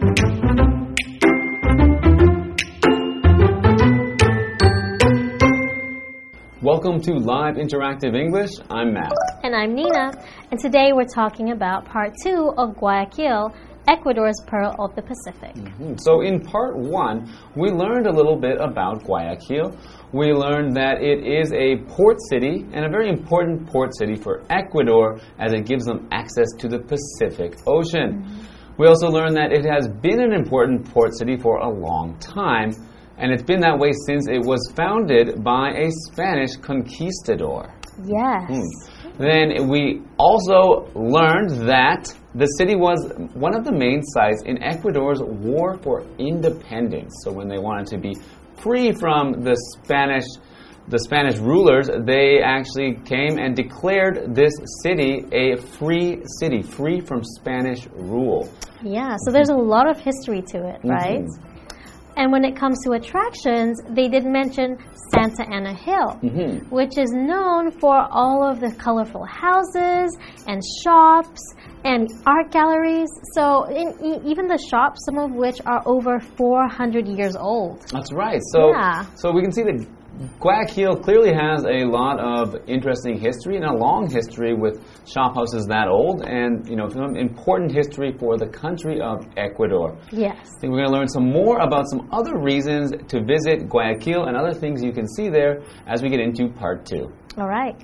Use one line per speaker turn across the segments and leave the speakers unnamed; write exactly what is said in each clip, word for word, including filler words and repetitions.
Welcome to Live Interactive English. I'm Matt.
And I'm Nina. And today we're talking about part two of Guayaquil, Ecuador's Pearl of the Pacific.
Mm-hmm. So in part one, we learned a little bit about Guayaquil. We learned that it is a port city and a very important port city for Ecuador as it gives them access to the Pacific Ocean. Mm-hmm. We also learned that it has been an important port city for a long time. And it's been that way since it was founded by a Spanish conquistador.
Yes.
Hmm. Then we also learned that the city was one of the main sites in Ecuador's war for independence. So when they wanted to be free from the Spanish, the Spanish rulers, they actually came and declared this city a free city, free from Spanish rule.
Yeah, so there's a lot of history to it, right? Mm-hmm. And when it comes to attractions, they did mention Santa Ana Hill, mm-hmm. which is known for all of the colorful houses and shops and art galleries. So in, even the shops, some of which are over four hundred years old.
That's right. So,
yeah.
so we can see that Guayaquil clearly has a lot of interesting history and a long history with shop houses that old and, you know, some important history for the country of Ecuador.
Yes.
I think we're going to learn some more about some other reasons to visit Guayaquil and other things you can see there as we get into part two.
All right.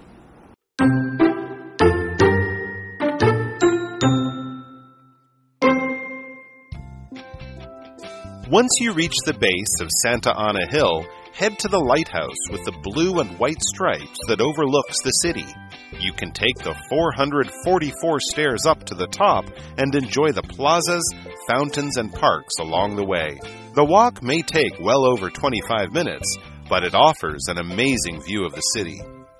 Once you reach the base of Santa Ana Hill, head to the lighthouse with the blue and white stripes that overlooks the city. You can take the four hundred forty-four stairs up to the top and enjoy the plazas, fountains, and parks along the way. The walk may take well over twenty-five minutes, but it offers an amazing view of the city.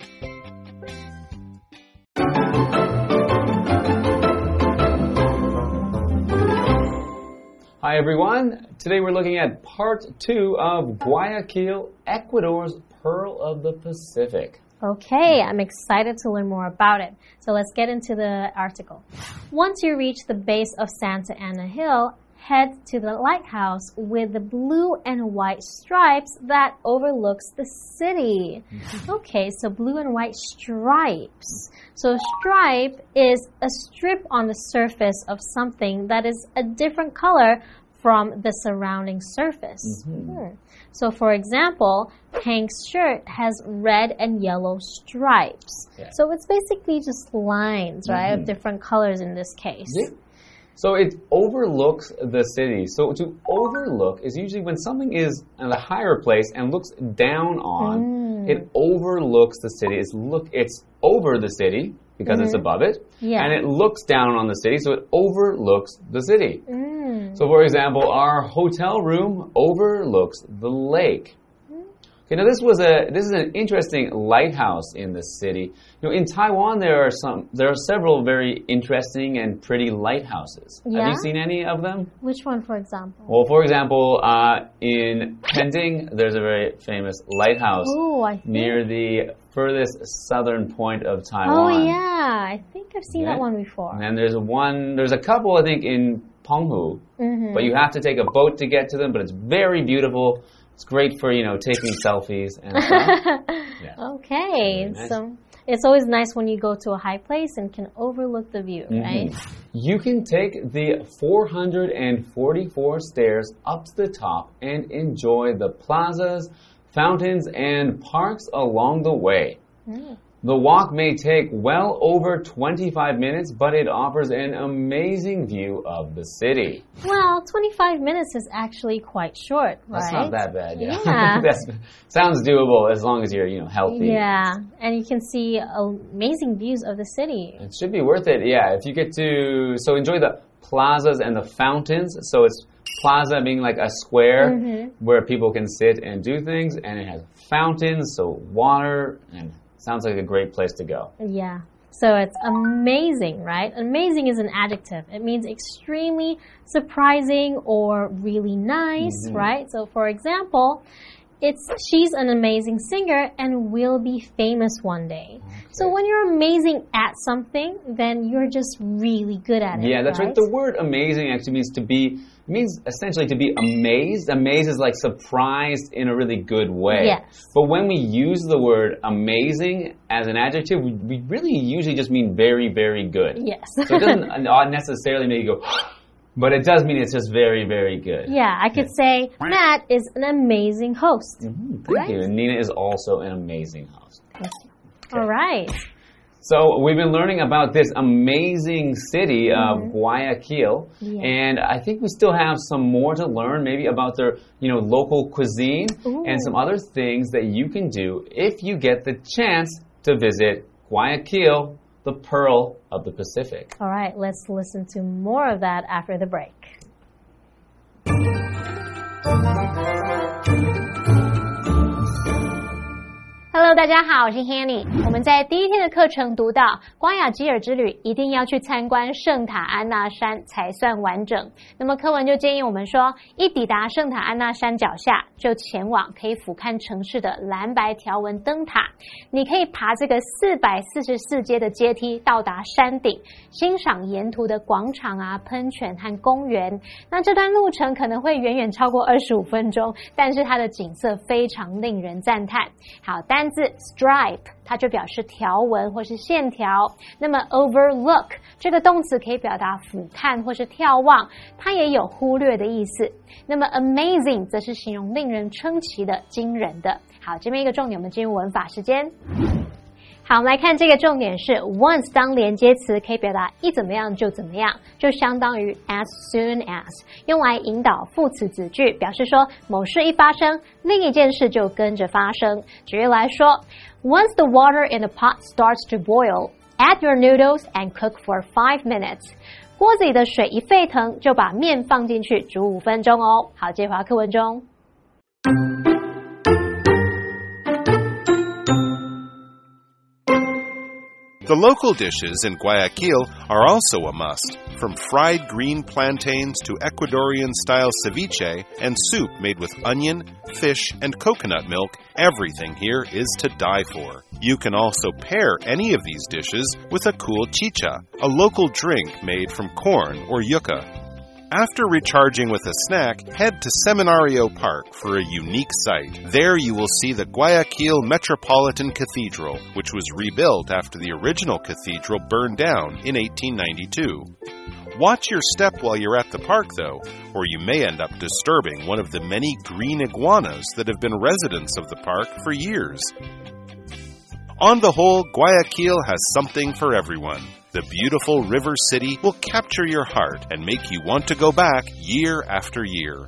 Hi everyone, today we're looking at part two of Guayaquil, Ecuador's Pearl of the Pacific.
Okay, I'm excited to learn more about it. So let's get into the article. Once you reach the base of Santa Ana Hill, head to the lighthouse with the blue and white stripes that overlooks the city. Okay, so blue and white stripes. So a stripe is a strip on the surface of something that is a different color from the surrounding surface. Mm-hmm. hmm. So for example, Hank's shirt has red and yellow stripes. Yeah. So it's basically just lines, right, mm-hmm. of different colors in this case.
Yeah. So it overlooks the city. So to overlook is usually when something is in a higher place and looks down on, mm. it overlooks the city. It's look it's over the city because mm-hmm. it's above it.
Yeah.
And it looks down on the city, so it overlooks the city. Mm. So for example, our hotel room overlooks the lake. You know, this was a this is an interesting lighthouse in the city. You know, in Taiwan there are some there are several very interesting and pretty lighthouses.
Yeah?
Have you seen any of them?
Which one, for example?
Well, for example, uh, in Pending, there's a very famous lighthouse
Ooh, I think.
near the furthest southern point of Taiwan.
Oh yeah, I think I've seen
okay.
that one before.
And then there's one there's a couple I think in Penghu, mm-hmm. but you have to take a boat to get to them. But it's very beautiful. It's great for, you know, taking selfies and stuff. Yeah.
Okay,
nice.
So it's always nice when you go to a high place and can overlook the view, mm-hmm. right?
You can take the four hundred forty-four stairs up to the top and enjoy the plazas, fountains, and parks along the way. Mm. The walk may take well over twenty-five minutes, but it offers an amazing view of the city.
Well, twenty-five minutes is actually quite short, right?
That's not that bad, yeah.
Yeah.
That sounds doable as long as you're, you know, healthy.
Yeah, and you can see amazing views of the city.
It should be worth it, yeah. If you get to, so enjoy the plazas and the fountains. So it's plaza being like a square mm-hmm. where people can sit and do things, and it has fountains, so water, and sounds like a great place to go.
Yeah. So it's amazing, right? Amazing is an adjective. It means extremely surprising or really nice, mm-hmm. right? So for example, It's she's an amazing singer and will be famous one day. Okay. So when you're amazing at something, then you're just really good at it.
Yeah, that's right.
right.
The word amazing actually means to be, means essentially to be amazed. Amazed is like surprised in a really good way.
Yes.
But when we use the word amazing as an adjective, we, we really usually just mean very, very good.
Yes.
So it doesn't not necessarily make you go, but it does mean it's just very, very good.
Yeah, I could say Matt is an amazing host.
Mm-hmm. Thank
right?
you. And Nina is also an amazing host.
Thank you. Okay. All right.
So we've been learning about this amazing city of mm-hmm. Guayaquil, yeah. and I think we still have some more to learn, maybe about their, you know, local cuisine Ooh. and some other things that you can do if you get the chance to visit Guayaquil, the Pearl of the Pacific.
All right, let's listen to more of that after the break. Hello， 大家好，我是 Hanny。我们在第一天的課程讀到，瓜亞基爾之旅一定要去參觀聖塔安娜山才算完整。那麼課文就建議我們說，一抵達聖塔安娜山腳下，就前往可以俯瞰城市的藍白條紋燈塔。你可以爬這個四百四十四階的階梯到達山頂，欣賞沿途的廣場啊、噴泉和公園。那這段路程可能會遠遠超過二十五分鐘，但是它的景色非常令人讚嘆。好，單字 stripe 它就表示條紋或是線條。那麼 overlook 這個動詞可以表達俯瞰或是眺望，它也有忽略的意思。那麼 amazing 則是形容令人稱奇的、驚人的。好，這邊一個重點，我們進入文法時間。好，我們來看這個重點是 once 當連接詞可以表達一怎麼樣就怎麼樣，就相當於 as soon as， 用來引導副詞子句，表示說某事一發生，另一件事就跟着發生。舉例來說 once the water in the pot starts to boil, add your noodles and cook for five minutes. 鍋子裡的水一沸騰，就把麵放進去煮五分鐘哦。好，接回到課文中。
The local dishes in Guayaquil are also a must, from fried green plantains to Ecuadorian-style ceviche and soup made with onion, fish, and coconut milk. Everything here is to die for. You can also pair any of these dishes with a cool chicha, a local drink made from corn or yucca. After recharging with a snack, head to Seminario Park for a unique sight. There you will see the Guayaquil Metropolitan Cathedral, which was rebuilt after the original cathedral burned down in eighteen ninety-two. Watch your step while you're at the park, though, or you may end up disturbing one of the many green iguanas that have been residents of the park for years. On the whole, Guayaquil has something for everyone. The beautiful river city will capture your heart and make you want to go back year after year.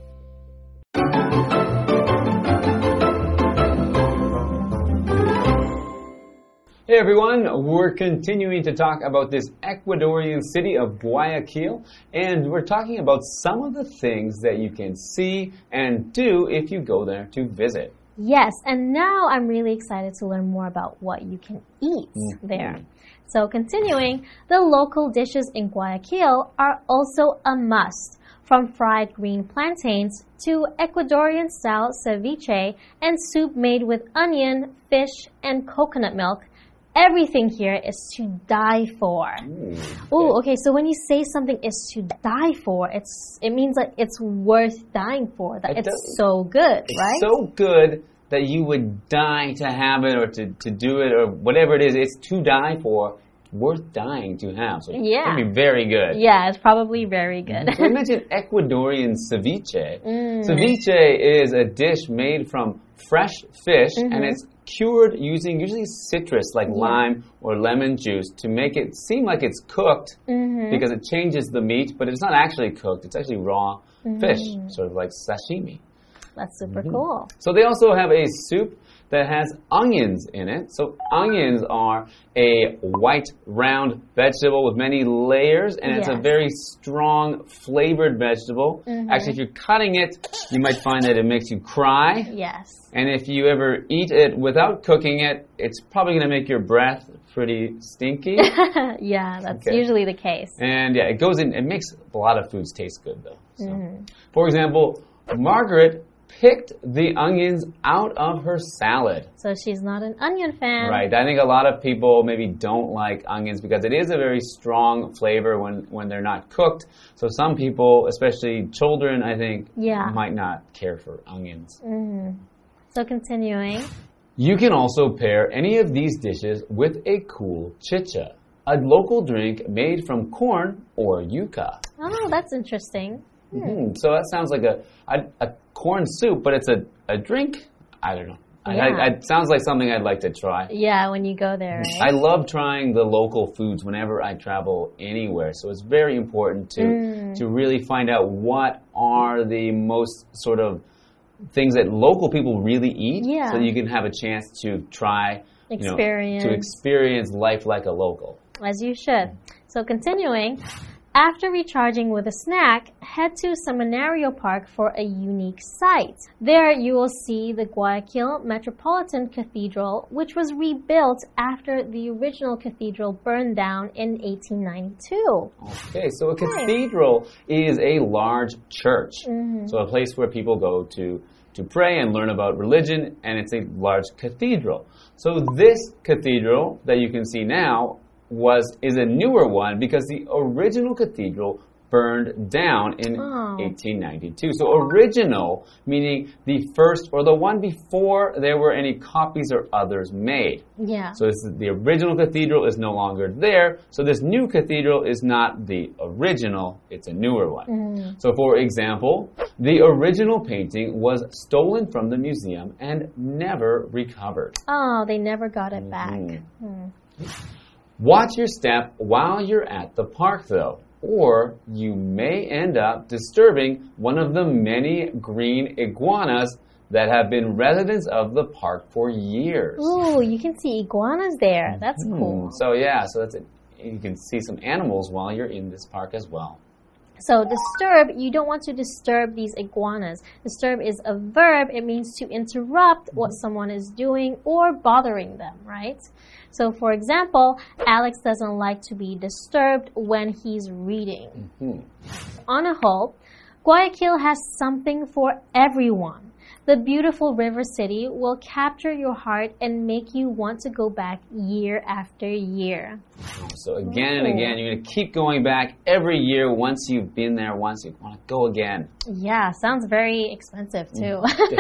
Hey everyone, we're continuing to talk about this Ecuadorian city of Guayaquil, and we're talking about some of the things that you can see and do if you go there to visit.
Yes, and now I'm really excited to learn more about what you can eat mm-hmm. there. So continuing, the local dishes in Guayaquil are also a must, from fried green plantains to Ecuadorian-style ceviche and soup made with onion, fish, and coconut milk. Everything here is to die for. Ooh, Ooh, okay, so when you say something is to die for, it's it means like it's worth dying for. That it it's does, so good,
it's
right?
It's so good that you would die to have it or to, to do it or whatever it is. It's to die for, worth dying to have. So
yeah.
It's going to be very good.
Yeah, it's probably very good.
So we mentioned Ecuadorian ceviche.
Mm.
Ceviche is a dish made from fresh fish,
mm-hmm.
and it's cured using usually citrus like yeah. lime or lemon juice to make it seem like it's cooked
mm-hmm.
because it changes the meat, but it's not actually cooked. It's actually raw mm-hmm. fish, sort of like sashimi.
That's super
mm-hmm.
cool.
So they also have a soup that has onions in it. So onions are a white round vegetable with many layers, and yes. it's a very strong flavored vegetable. Mm-hmm. Actually, if you're cutting it, you might find that it makes you cry.
Yes.
And if you ever eat it without cooking it, it's probably going to make your breath pretty stinky.
Yeah, that's
okay.
usually the case.
And yeah, it goes in, it makes a lot of foods taste good though. So.
Mm-hmm.
For example, Margaret picked the onions out of her salad.
So she's not an onion fan.
Right. I think a lot of people maybe don't like onions because it is a very strong flavor when, when they're not cooked. So some people, especially children, I think,
yeah.
might not care for onions.
Mm. So continuing.
You can also pair any of these dishes with a cool chicha, a local drink made from corn or yuca.
Oh, that's interesting. Hmm.
Mm-hmm. So that sounds like a, a, a corn soup, but it's a, a drink? I don't know.
Yeah.
I, I, it sounds like something I'd like to try.
Yeah, when you go there, right?
I love trying the local foods whenever I travel anywhere. So it's very important to, mm. to really find out what are the most sort of things that local people really eat,
yeah.
so that you can have a chance to try,
experience.
You know, to experience life like a local.
As you should. So continuing, after recharging with a snack, head to Seminario Park for a unique sight. There you will see the Guayaquil Metropolitan Cathedral, which was rebuilt after the original cathedral burned down in eighteen ninety-two.
Okay, so a cathedral is a large church.
Mm-hmm.
So a place where people go to to pray and learn about religion, and it's a large cathedral. So this cathedral that you can see now was is a newer one because the original cathedral burned down in
oh.
eighteen ninety-two. So original meaning the first or the one before there were any copies or others made.
Yeah.
So this is, the original cathedral is no longer there. So this new cathedral is not the original, it's a newer one.
Mm.
So for example, the original painting was stolen from the museum and never recovered.
Oh, they never got it back.
Mm-hmm.
Mm.
Watch your step while you're at the park, though, or you may end up disturbing one of the many green iguanas that have been residents of the park for years.
Ooh, you can see iguanas there. That's
mm.
cool.
So yeah, so that's it. You can see some animals while you're in this park as well.
So disturb, you don't want to disturb these iguanas. Disturb is a verb. It means to interrupt what someone is doing or bothering them, right? So for example, Alex doesn't like to be disturbed when he's reading.
Mm-hmm.
On a whole, Guayaquil has something for everyone. The beautiful river city will capture your heart and make you want to go back year after year.
So again and again, you're going to keep going back every year. Once you've been there once, you want to go again.
Yeah, sounds very expensive too.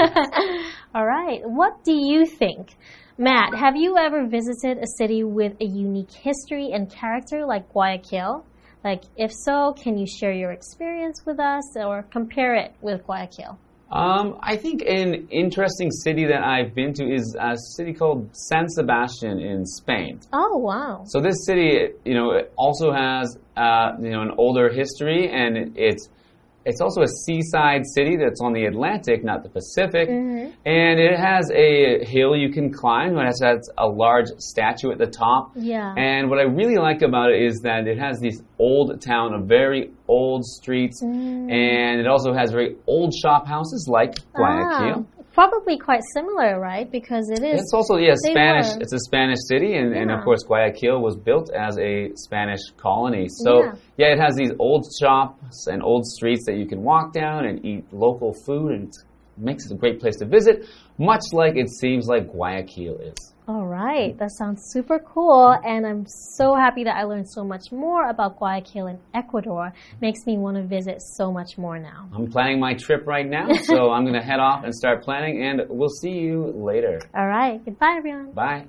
All right, what do you think? Matt, have you ever visited a city with a unique history and character like Guayaquil? Like, if so, can you share your experience with us or compare it with Guayaquil?
Um, I think an interesting city that I've been to is a city called San Sebastian in Spain.
Oh, wow.
So this city, you know, it also has, uh, you know, an older history, and it, it's it's also a seaside city that's on the Atlantic, not the Pacific.
Mm-hmm.
And it has a hill you can climb. It has a large statue at the top.
Yeah.
And what I really like about it is that it has this old town of very old streets.
Mm.
And it also has very old shop houses like Guayaquil.
Ah, probably quite similar, right? Because it is.
It's also, yeah, Spanish.
Were.
It's a Spanish city. And,
yeah.
and of course, Guayaquil was built as a Spanish colony. So,
yeah.
yeah, it has these old shops and old streets that you can walk down and eat local food. And it makes it a great place to visit, much like it seems like Guayaquil is.
All right, that sounds super cool, and I'm so happy that I learned so much more about Guayaquil in Ecuador. Makes me want to visit so much more now.
I'm planning my trip right now, so I'm going to head off and start planning, and we'll see you later.
All right, goodbye, everyone.
Bye.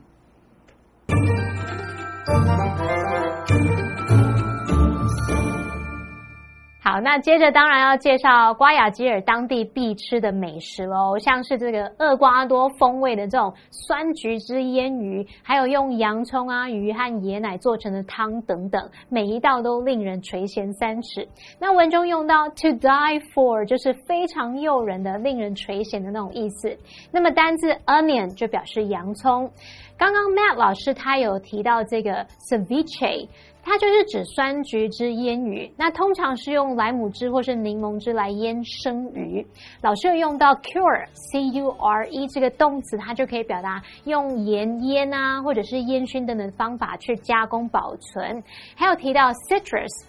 好，那接着当然要介紹瓜亞吉爾當地必吃的美食嘍，像是這個厄瓜多風味的這種酸橘汁醃魚，還有用洋蔥啊、魚和椰奶做成的湯等等，每一道都令人垂涎三尺。那文中用到 to die for 就是非常誘人的、令人垂涎的那種意思。那麼單字 onion 就表示洋蔥。剛剛 Matt 老師他有提到這個 ceviche。它就是指酸橘汁醃魚，那通常是用萊姆汁或是檸檬汁來醃生魚。老師有用到 cure C U R E 這個動詞，它就可以表達用鹽醃啊，或者是煙燻等等方法去加工保存。還有提到 citrus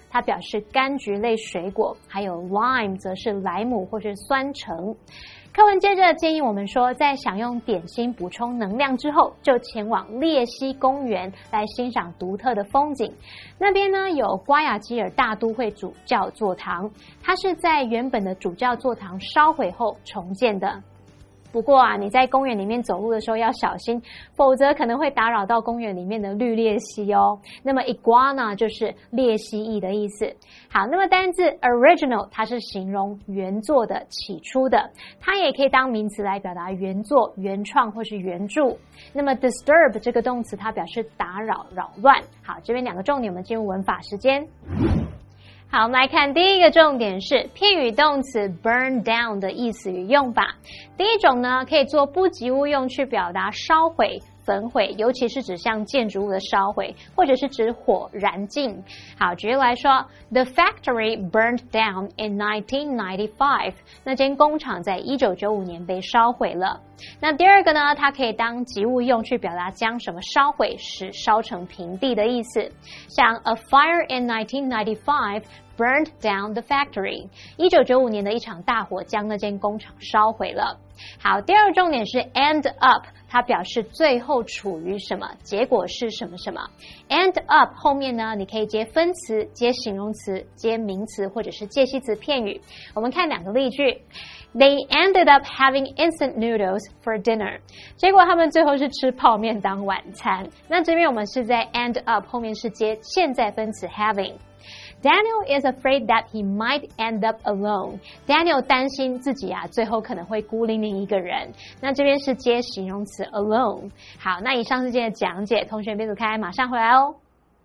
它表示柑橘類水果，還有 lime 則是萊姆或是酸橙。課文接着建議我們說，在享用點心補充能量之後，就前往列西公園來欣賞獨特的風景。那邊呢有瓜亞基爾大都會主教座堂，它是在原本的主教座堂燒毀後重建的。不過啊，你在公園裡面走路的時候要小心，否則可能會打擾到公園裡面的綠鬣蜥哦。那麼 iguana 就是鬣蜥蜴的意思。好，那麼單字 original 它是形容原作的、起初的，它也可以當名詞來表達原作、原創或是原著。那麼 disturb 這個動詞它表示打擾、擾亂。好，這邊兩個重點，我們進入文法時間。好，我們來看第一個重點是片語動詞 burn down 的意思與用法。第一種呢，可以做不及物用去表達燒毀、焚毀，尤其是指向建築物的燒毀，或者是指火燃盡。好，舉例來說 ，The factory burned down in nineteen ninety-five。那間工廠在一九九五年被燒毀了。那第二個呢，它可以當及物用去表達將什麼燒毀，使燒成平地的意思。像 A fire in nineteen ninety-five burned down the factory。一九九五年的一場大火將那間工厂燒毀了。好，第二个重点是 end up， 它表示最後處於什麼，結果是什麼什麼。end up 後面呢，你可以接分詞、接形容詞、接名詞或者是介系詞片語。我們看兩個例句。They ended up having instant noodles for dinner。結果他們最後是吃泡麵當晚餐。那這邊我們是在 end up 後面是接現在分詞 having。Daniel is afraid that he might end up alone. Daniel 擔心自己啊，最後可能會孤零零一個人。那這邊是接形容詞 alone。好，那以上是今天的講解，同學別走開，馬上回來哦。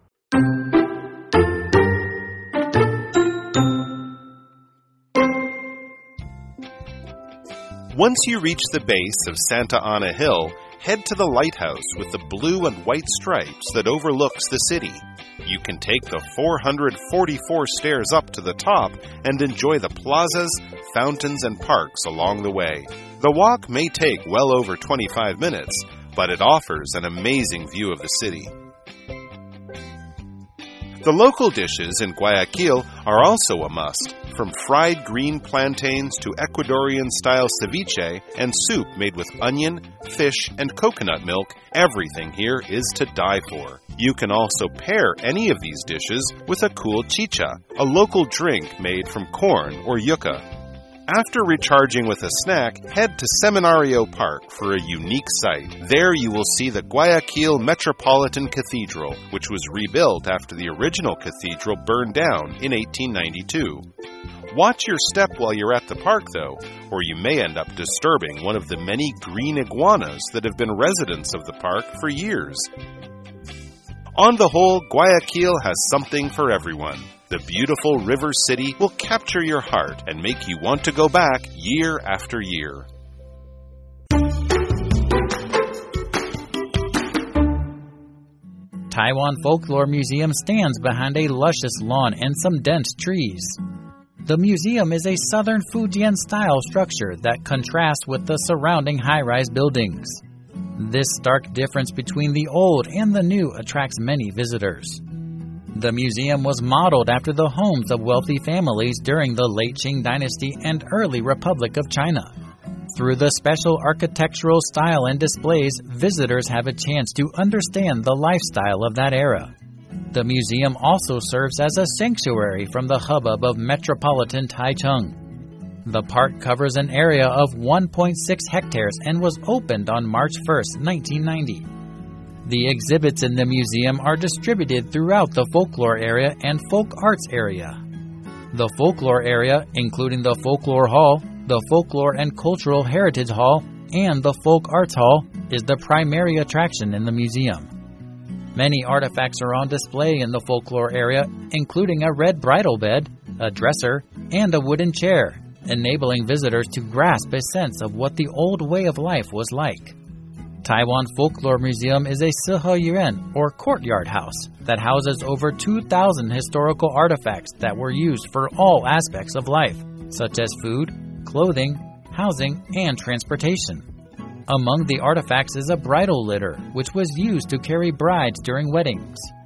Once you reach the base of Santa Ana Hill, head to the lighthouse with the blue and white stripes that overlooks the city. You can take the four hundred forty-four stairs up to the top and enjoy the plazas, fountains, and parks along the way. The walk may take well over twenty-five minutes, but it offers an amazing view of the city. The local dishes in Guayaquil are also a must, from fried green plantains to Ecuadorian-style ceviche and soup made with onion, fish, and coconut milk. Everything here is to die for. You can also pair any of these dishes with a cool chicha, a local drink made from corn or yucca. After recharging with a snack, head to Seminario Park for a unique sight. There you will see the Guayaquil Metropolitan Cathedral, which was rebuilt after the original cathedral burned down in eighteen ninety-two. Watch your step while you're at the park, though, or you may end up disturbing one of the many green iguanas that have been residents of the park for years. On the whole, Guayaquil has something for everyone. The beautiful river city will capture your heart and make you want to go back year after year.
Taiwan Folklore Museum stands behind a luscious lawn and some dense trees. The museum is a southern Fujian-style structure that contrasts with the surrounding high-rise buildings. This stark difference between the old and the new attracts many visitors. The museum was modeled after the homes of wealthy families during the late Qing Dynasty and early Republic of China. Through the special architectural style and displays, visitors have a chance to understand the lifestyle of that era. The museum also serves as a sanctuary from the hubbub of metropolitan Taichung. The park covers an area of one point six hectares and was opened on March first, nineteen ninety. The exhibits in the museum are distributed throughout the folklore area and folk arts area. The folklore area, including the Folklore Hall, the Folklore and Cultural Heritage Hall, and the Folk Arts Hall, is the primary attraction in the museum. Many artifacts are on display in the folklore area, including a red bridal bed, a dresser, and a wooden chair, enabling visitors to grasp a sense of what the old way of life was like. Taiwan Folklore Museum is a siheyuan, or courtyard house, that houses over two thousand historical artifacts that were used for all aspects of life, such as food, clothing, housing, and transportation. Among the artifacts is a bridal litter, which was used to carry brides during weddings.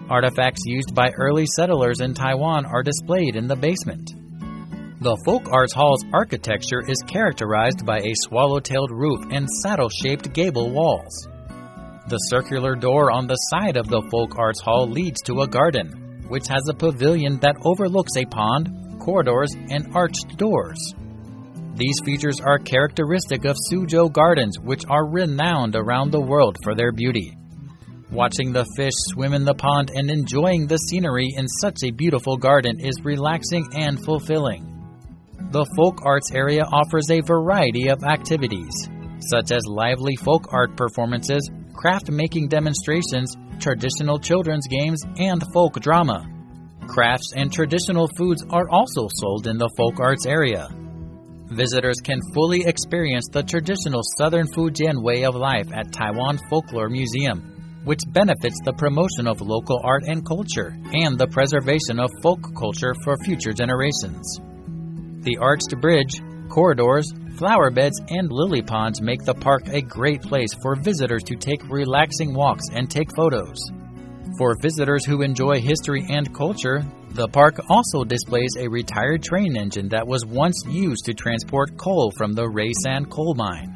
Artifacts used by early settlers in Taiwan are displayed in the basement. The Folk Arts Hall's architecture is characterized by a swallow-tailed roof and saddle-shaped gable walls. The circular door on the side of the Folk Arts Hall leads to a garden, which has a pavilion that overlooks a pond, corridors, and arched doors. These features are characteristic of Suzhou Gardens, which are renowned around the world for their beauty. Watching the fish swim in the pond and enjoying the scenery in such a beautiful garden is relaxing and fulfilling. The folk arts area offers a variety of activities, such as lively folk art performances, craft-making demonstrations, traditional children's games, and folk drama. Crafts and traditional foods are also sold in the folk arts area. Visitors can fully experience the traditional Southern Fujian way of life at Taiwan Folklore Museum, which benefits the promotion of local art and culture and the preservation of folk culture for future generations. The arched bridge, corridors, flower beds, and lily ponds make the park a great place for visitors to take relaxing walks and take photos. For visitors who enjoy history and culture, the park also displays a retired train engine that was once used to transport coal from the Reisan coal mine.